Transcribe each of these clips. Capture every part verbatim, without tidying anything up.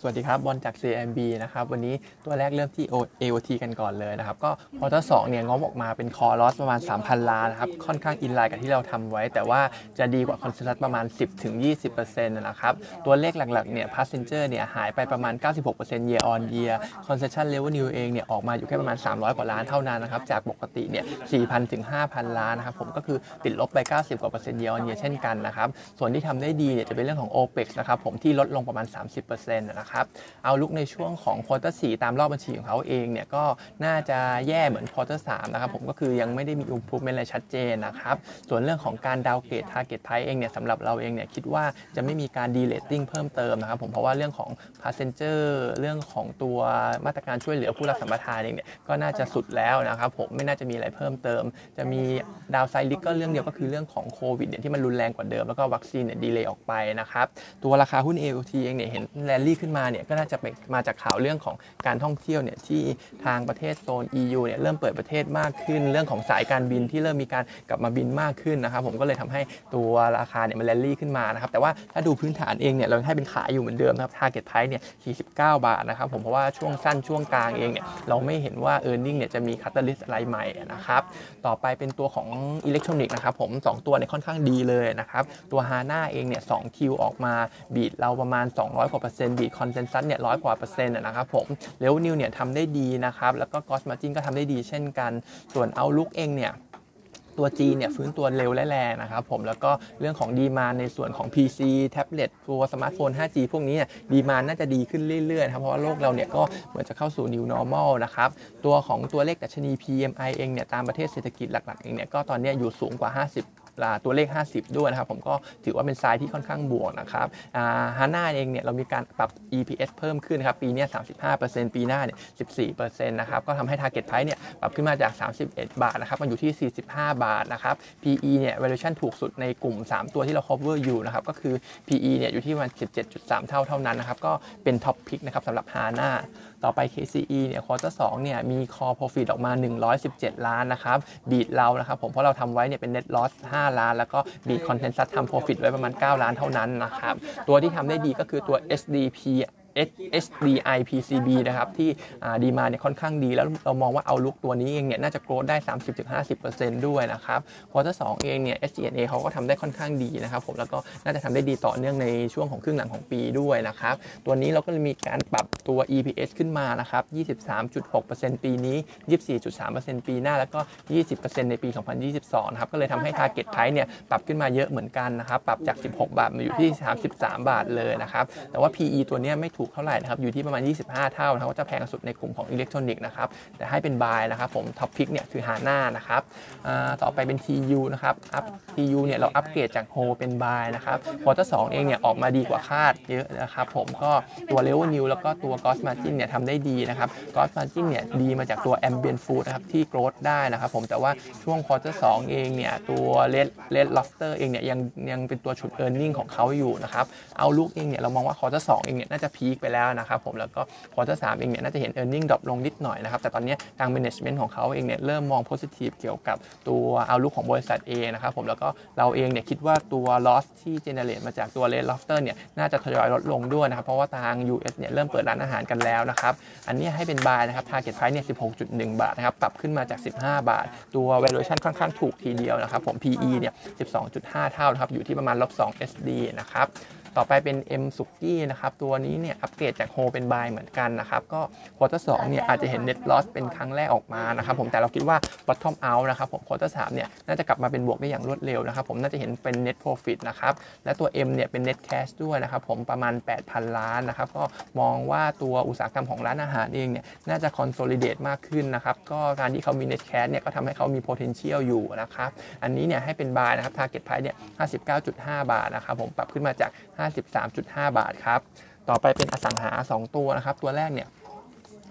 สวัสดีครับบอลจาก ซี เอ็ม บี นะครับวันนี้ตัวแรกเริ่มที่ เอ โอ ที กันก่อนเลยนะครับก็ควอเตอร์สองเนี่ยงบออกมาเป็นคอลอสประมาณ สามพัน ล้านนะครับค่อนข้างอินไลน์กับที่เราทำไว้แต่ว่าจะดีกว่าคอนเซนแซสประมาณ สิบถึงยี่สิบเปอร์เซ็นต์ นะครับตัวเลขหลักๆเนี่ย passenger เนี่ยหายไปประมาณ เก้าสิบหกเปอร์เซ็นต์ year on year concession revenue เองเนี่ยออกมาอยู่แค่ประมาณสามร้อยกว่าล้านเท่านั้นนะครับจากปกติเนี่ย สี่พัน ถึง ห้าพัน ล้านนะครับผมก็คือติดลบไปเก้าสิบกว่าเปอร์เซ็นต์ year on year เช่นกันนะครับส่วนที่ทำได้ดีเนี่ยจะเป็นเรื่องของ โอ พี อี ซี นะครับผมที่ลดลงประมาณ สามสิบเปอร์เซ็นต์ นะครับเอาลุกในช่วงของควอเตอร์สี่ตามรอบบัญชีของเขาเองเนี่ยก็น่าจะแย่เหมือนควอเตอร์สามนะครับผมก็คือยังไม่ได้มี improvement อะไรชัดเจนนะครับส่วนเรื่องของการดาวเกรด target price เองเนี่ยสำหรับเราเองเนี่ยคิดว่าจะไม่มีการ de-rating เพิ่มเติมนะครับผมเพราะว่าเรื่องของ passenger เรื่องของตัวมาตรการช่วยเหลือผู้รับสัมปทานเองเนี่ยก็น่าจะสุดแล้วนะครับผมไม่น่าจะมีอะไรเพิ่มเติมจะมีดาวไซด์ลิกก็เรื่องเดียวก็คือเรื่องของโควิดเนี่ยที่มันรุนแรงกว่าเดิมแล้วก็วัคซีนเนี่ยดีเลย์ออกไปนะครับตัวราคาหุ้น เอ โอ ที เองเนี่ยเห็นแรลลี่ขึ้นมาเนี่ยก็น่าจะเป็นมาจากข่าวเรื่องของการท่องเที่ยวเนี่ยที่ทางประเทศโซน อี ยู เนี่ยเริ่มเปิดประเทศมากขึ้นเรื่องของสายการบินที่เริ่มมีการกลับมาบินมากขึ้นนะครับผมก็เลยทำให้ตัวราคาเนี่ยมันแรลลี่ขึ้นมานะครับแต่ว่าถ้าดูพื้นฐานเองเนี่ยเราให้เป็นขายอยู่เหมือนเดิมนะครับ target price เนี่ยสี่สิบเก้าบาทนะครับผมเพราะว่าช่วงสั้นช่วงกลางเองเนี่ยเราไม่เห็นว่า earning เนี่ยจะมี catalyst อะไรใหม่นะครับต่อไปเป็นตัวของอิเล็กทรอนิกส์นะครับผมสองตัวเนี่ยค่อนข้างดีเลยนะครับตัว Hana เองเนี่ยสอง คิว ออกมาบีทเราประมาณสองร้อยกว่าเปอร์เซ็นต์บีทคอนเซนแซสเนี่ยร้อยกว่าเปอร์เซ็นต์นะครับผมเรเวนิวเนี่ยทำได้ดีนะครับแล้วก็ Gross Margin ก็ทำได้ดีเช่นกันส่วน Outlook เองเนี่ยตัว G เนี่ยฟื้นตัวเร็วและแรงนะครับผมแล้วก็เรื่องของดีมานในส่วนของ พี ซี แท็บเล็ตตัวสมาร์ทโฟน ห้าจี พวกนี้เนี่ยดีมานน่าจะดีขึ้นเรื่อยๆครับเพราะว่าโลกเราเนี่ยก็เหมือนจะเข้าสู่ New Normal นะครับตัวของตัวเลขดัชนี พี เอ็ม ไอ เองเนี่ยตามประเทศเศรษฐกิจหลักๆเองเนี่ยก็ตอนนี้อยู่สูงกว่าห้าสิบตัวเลขห้าสิบด้วยนะครับผมก็ถือว่าเป็นไซด์ที่ค่อนข้างบวกนะครับอ่า Hana เองเนี่ยเรามีการปรับ อี พี เอส เพิ่มขึ้นครับปีนี้ สามสิบห้าเปอร์เซ็นต์ ปีหน้าเนี่ย สิบสี่เปอร์เซ็นต์ นะครับก็ทำให้ target price เนี่ยปรับขึ้นมาจากสามสิบเอ็ดบาทนะครับมาอยู่ที่สี่สิบห้าบาทนะครับ พี อี เนี่ย valuation ถูกสุดในกลุ่มสามตัวที่เรา cover อยู่นะครับก็คือ พี อี เนี่ยอยู่ที่ประมาณ สิบเจ็ดจุดสาม เท่าเท่านั้นนะครับก็เป็น top pick นะครับสำหรับ Hanaต่อไป เค ซี อี เนี่ย ควอเตอร์สองเนี่ยมี core profit ออกมาหนึ่งร้อยสิบเจ็ดล้านนะครับบีทเรานะครับผมเพราะเราทำไว้เนี่ยเป็น net loss ห้าล้านแล้วก็บีท consensus ทำ profit ไว้ประมาณเก้าล้านเท่านั้นนะครับตัวที่ทำได้ดีก็คือตัว เอส ดี พี เอส ดี ไอ พี ซี บี นะครับที่ดีมาเนี่ยค่อนข้างดีแล้วเรามองว่าเอาลุกตัวนี้เองเนี่ยน่าจะโกรธได้ สามสิบถึงห้าสิบเปอร์เซ็นต์ ด้วยนะครับควอเตอร์สองเองเนี่ย เอส จี เอ็น เอ เขาก็ทำได้ค่อนข้างดีนะครับผมแล้วก็น่าจะทำได้ดีต่อเนื่องในช่วงของครึ่งหลังของปีด้วยนะครับตัวนี้เราก็มีการปรับตัว อี พี เอส ขึ้นมานะครับ ยี่สิบสามจุดหกเปอร์เซ็นต์ ปีนี้ ยี่สิบสี่จุดสามเปอร์เซ็นต์ ปีหน้าแล้วก็ ยี่สิบเปอร์เซ็นต์ ในปี สองพันยี่สิบสองนะครับก็เลยทำให้ target price เนี่ยปรับขึ้นมาเยอะเหมือนกันนะครับปรับจากสิบหกบาทมาอยู่ที่สามสิบสามบาทเลยนะครับแต่ว่า พี อี ตัวนี้ไม่ถูกเท่าไหร่นะครับอยู่ที่ประมาณยี่สิบห้าเท่านะครับก็จะแพงสุดในกลุ่มของอิเล็กทรอนิกส์นะครับแต่ให้เป็นบายนะครับผมท็อปพิกเนี่ยคือ Hana นะครับต่อไปเป็น ที ยู นะครับอัพ ที ยู เนี่ยเราอัปเกรดจากโฮเป็นบายนะครับควอเตอร์สองเองเนี่ยออกมาดีกว่าคาดเยอะนะครับผมก็ตัว revenue แล้วก็ตัว gross margin เนี่ยทำได้ดีนะครับ gross margin เนี่ยดีมาจากตัว ambient food นะครับที่ growth ได้นะครับผมแต่ว่าช่วงควอเตอร์สองเองเนี่ยตัว red red lobster เองเนี่ยยังยังเป็นตัวฉุด earning ของเขาอยู่นะครับเอาลุกเองเนี่ยเรามองว่าควอเตอร์สองเองเนี่ยน่าจะพีคไปแล้วนะครับผมแล้วก็ควอเตอร์สามเองเนี่ยน่าจะเห็น earning ดรอปลงนิดหน่อยนะครับแต่ตอนนี้ทาง management ของเขาเองเนี่ยเริ่มมอง positive เกี่ยวกับตัว outlook ของบริษัทเองนะครับผมแล้วก็เราเองเนี่ยคิดว่าตัว loss ที่ generate มาจากตัว red lobster เนี่ยน่าจะทยอยลดลงด้วยนะครับเพราะว่าทาง ยู เอส เนี่ยเริ่มเปิดร้านอาหารกันแล้วนะครับอันนี้ให้เป็น buy นะครับ target price เนี่ย สิบหกจุดหนึ่ง บาทนะครับปรับขึ้นมาจากสิบห้าบาทตัว valuation ค่อนข้างถูกทีเดียวนะครับผม พี อี เนี่ย สิบสองจุดห้า เท่านะครับอยู่ที่ประมาณ ลบสอง เอส ดี นะครับต่อไปเป็น M Suki นะครับตัวนี้เนี่ยอัปเกรดจากโฮเป็น buy เหมือนกันนะครับก็ควอเตอร์สองเนี่ยอาจจะเห็น net loss เป็นครั้งแรกออกมานะครับผมแต่เราคิดว่า bottom out นะครับผมควอเตอร์สามเนี่ยน่าจะกลับมาเป็นบวกได้อย่างรวดเร็วนะครับผมน่าจะเห็นเป็น net profit นะครับและตัว M เนี่ยเป็น net cash ด้วยนะครับผมประมาณ แปดพัน ล้านนะครับก็มองว่าตัวอุตสาหกรรมของร้านอาหารเองเนี่ยน่าจะ consolidate มากขึ้นนะครับก็การที่เขามี net cash เนี่ยก็ทำให้เขามี potential อยู่นะครับอันนี้เนี่ยให้เป็น buy นะครับ target price เนี่ย ห้าสิบเก้าจุดห้า บาทนะครับผมปรับขึ้นมาจาก ห้าสิบสามจุดห้า บาทครับต่อไปเป็นอสังหาสองตัวนะครับตัวแรกเนี่ย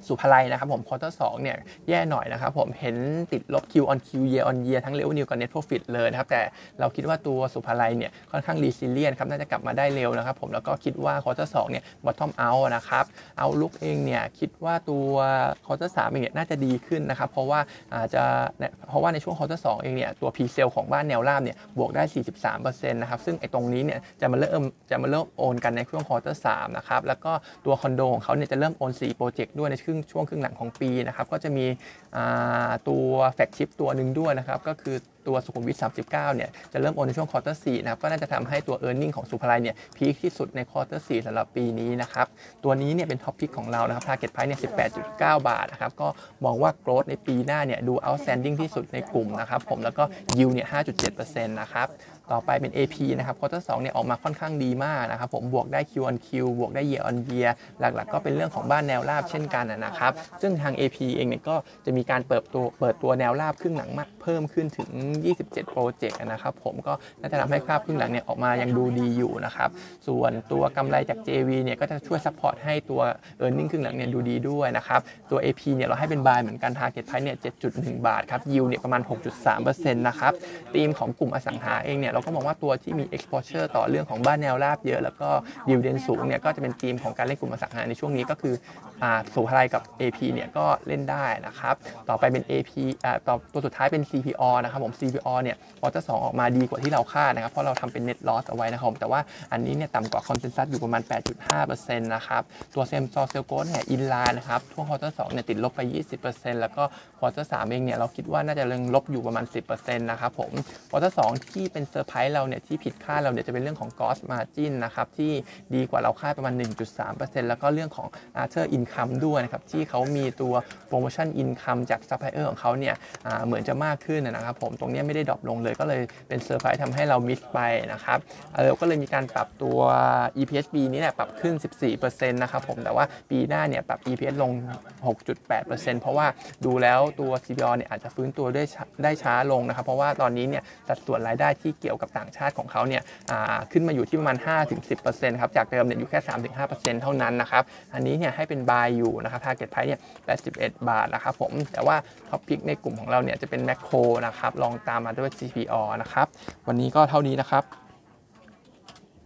สุภาลัยนะครับผมควอเตอร์สองเนี่ยแย่หน่อยนะครับผมเห็นติดลบ Q on Q year on year ทั้ง revenue กับ net profit เลยนะครับแต่เราคิดว่าตัวสุภาลัยเนี่ยค่อนข้าง resilient ครับน่าจะกลับมาได้เร็วนะครับผมแล้วก็คิดว่าควอเตอร์สองเนี่ย bottom out นะครับเอาลุกเองเนี่ยคิดว่าตัวควอเตอร์สามเองเนี่ยน่าจะดีขึ้นนะครับเพราะว่าอาจจะเพราะว่าในช่วงควอเตอร์สองเองเนี่ยตัว pre-sale ของบ้านแนวราบเนี่ยบวกได้ สี่สิบสามเปอร์เซ็นต์ นะครับซึ่งไอ้ตรงนี้เนี่ยจะมาเริ่มจะมาเริ่มโอนกันในช่วงควอเตอร์สามนะครับแล้วก็ตัวคอนโดของเขาเนี่ยจะเริ่มโอนสี่โปรเจกต์ด้วยในช่วงช่วงครึ่งหลังของปีนะครับก็จะมีตัวแฟลกชิพตัวหนึ่งด้วยนะครับก็คือตัวสุขุมวิทสามสิบเก้าเนี่ยจะเริ่มโอนในช่วงควอเตอร์สี่นะครับก็น่าจะทำให้ตัว earning ของสุภาลัยเนี่ยพีคที่สุดในควอเตอร์สี่สำหรับปีนี้นะครับตัวนี้เนี่ยเป็นท็อปพิกของเรานะครับ target price เนี่ย สิบแปดจุดเก้า บาทนะครับก็มองว่า growth ในปีหน้าเนี่ยดู outstanding ที่สุดในกลุ่มนะครับผมแล้วก็ yield เนี่ย ห้าจุดเจ็ดเปอร์เซ็นต์ นะครับต่อไปเป็น เอ พี นะครับควอเตอร์สองเนี่ยออกมาค่อนข้างดีมากนะครับผมบวกได้ Q on Q บวกได้ year on year หลักๆก็เป็นเรื่องของบ้านแนวราบเช่นกันนะครับซึ่งทาง เอ พี เองเนี่ยก็จะมีการเปิดตัวเปิดตัวแนวราบครึ่งหลังมากเพิ่มขึ้นถึงยี่สิบเจ็ดโปรเจกต์นะครับผมก็น่าจะทำให้คราบครึ่งหลังเนี่ยออกมายังดูดีอยู่นะครับส่วนตัวกำไรจาก เจ วี เนี่ยก็จะช่วยซัพพอร์ตให้ตัว earning ครึ่งหลังเนี่ยดูดีด้วยนะครับตัว เอ พี เนี่ยเราให้เป็น buy เหมือนกัน target price เนี่ย เจ็ดจุดหนึ่ง บาทครับ yield เนี่ยประมาณ หกจุดสามเปอร์เซ็นต์ นะครับธีมของกลุ่มอสังหาเองเนี่ยเราก็มองว่าตัวที่มี exposure ต่อเรื่องของบ้านแนวราบเยอะแล้วก็ dividend สูงเนี่ยก็จะเป็นธีมของการเล่นกลุ่มอสังหาในช่วงนี้ก็คืออ่าสุภาลัยกับ เอ พี เนี่ยก็เล่นได้นะครับต่อไปเป็น เอ พี อ่าต่อตัวสุดท้ายเป็น ซี พี อ นะครับผม ซี พี อ เนี่ยควอเตอร์สองออกมาดีกว่าที่เราคาดนะครับเพราะเราทำเป็น net loss เอาไว้นะครับแต่ว่าอันนี้เนี่ยต่ำกว่า consensus อยู่ประมาณ แปดจุดห้าเปอร์เซ็นต์ นะครับตัว same store sales growth เนี่ย in line นะครับช่วงควอเตอร์สองเนี่ยติดลบไป ยี่สิบเปอร์เซ็นต์ แล้วก็ควอเตอร์สามเองเนี่ยเราคิดว่าน่าจะยังลบอยู่ประมาณ สิบเปอร์เซ็นต์ นะครับผมควอเตอร์สองที่เป็นเซอร์ไพรส์เราเนี่ยที่ผิดคาดเราเนี่ยจะเป็นเรื่องของ gross margin นะครับที่ดีกว่าเราคาดประมาณ หนึ่งจุดสามเปอร์เซ็นต์ แล้วก็เรื่องของ other income ด้วยนะครับที่เขามีตัว promotion income จาก supplier ของเขาเนี่ยเหมือนจะมากขึ้นนะครับผมตรงนี้ไม่ได้ดรอปลงเลยก็เลยเป็นเซอร์ไพรส์ทำให้เรามิสไปนะครับเออก็เลยมีการปรับตัว อี พี เอส ปีนี้เนี่ยปรับขึ้น สิบสี่เปอร์เซ็นต์ นะครับผมแต่ว่าปีหน้าเนี่ยปรับ อี พี เอส ลง หกจุดแปดเปอร์เซ็นต์ เพราะว่าดูแล้วตัว ซี พี อ เนี่ยอาจจะฟื้นตัวได้ได้ช้าลงนะครับเพราะว่าตอนนี้เนี่ยสัดส่วนรายได้ที่เกี่ยวกับต่างชาติของเขาเนี่ยขึ้นมาอยู่ที่ประมาณ ห้าถึงสิบเปอร์เซ็นต์ ครับจากเดิมเนี่ยอยู่แค่ สามถึงห้าเปอร์เซ็นต์ เท่านั้นนะครับอันนี้เนี่ยให้เป็น buy อยู่นะครับ target price เนี่ยแปดสิบเอ็ดบาทนะครับผมแต่ว่าท็อปพิกในกลุ่มของเราเนี่ยจะเป็นแมคโครนะครับลองตามมาด้วย ซี พี อ นะครับวันนี้ก็เท่านี้นะครับ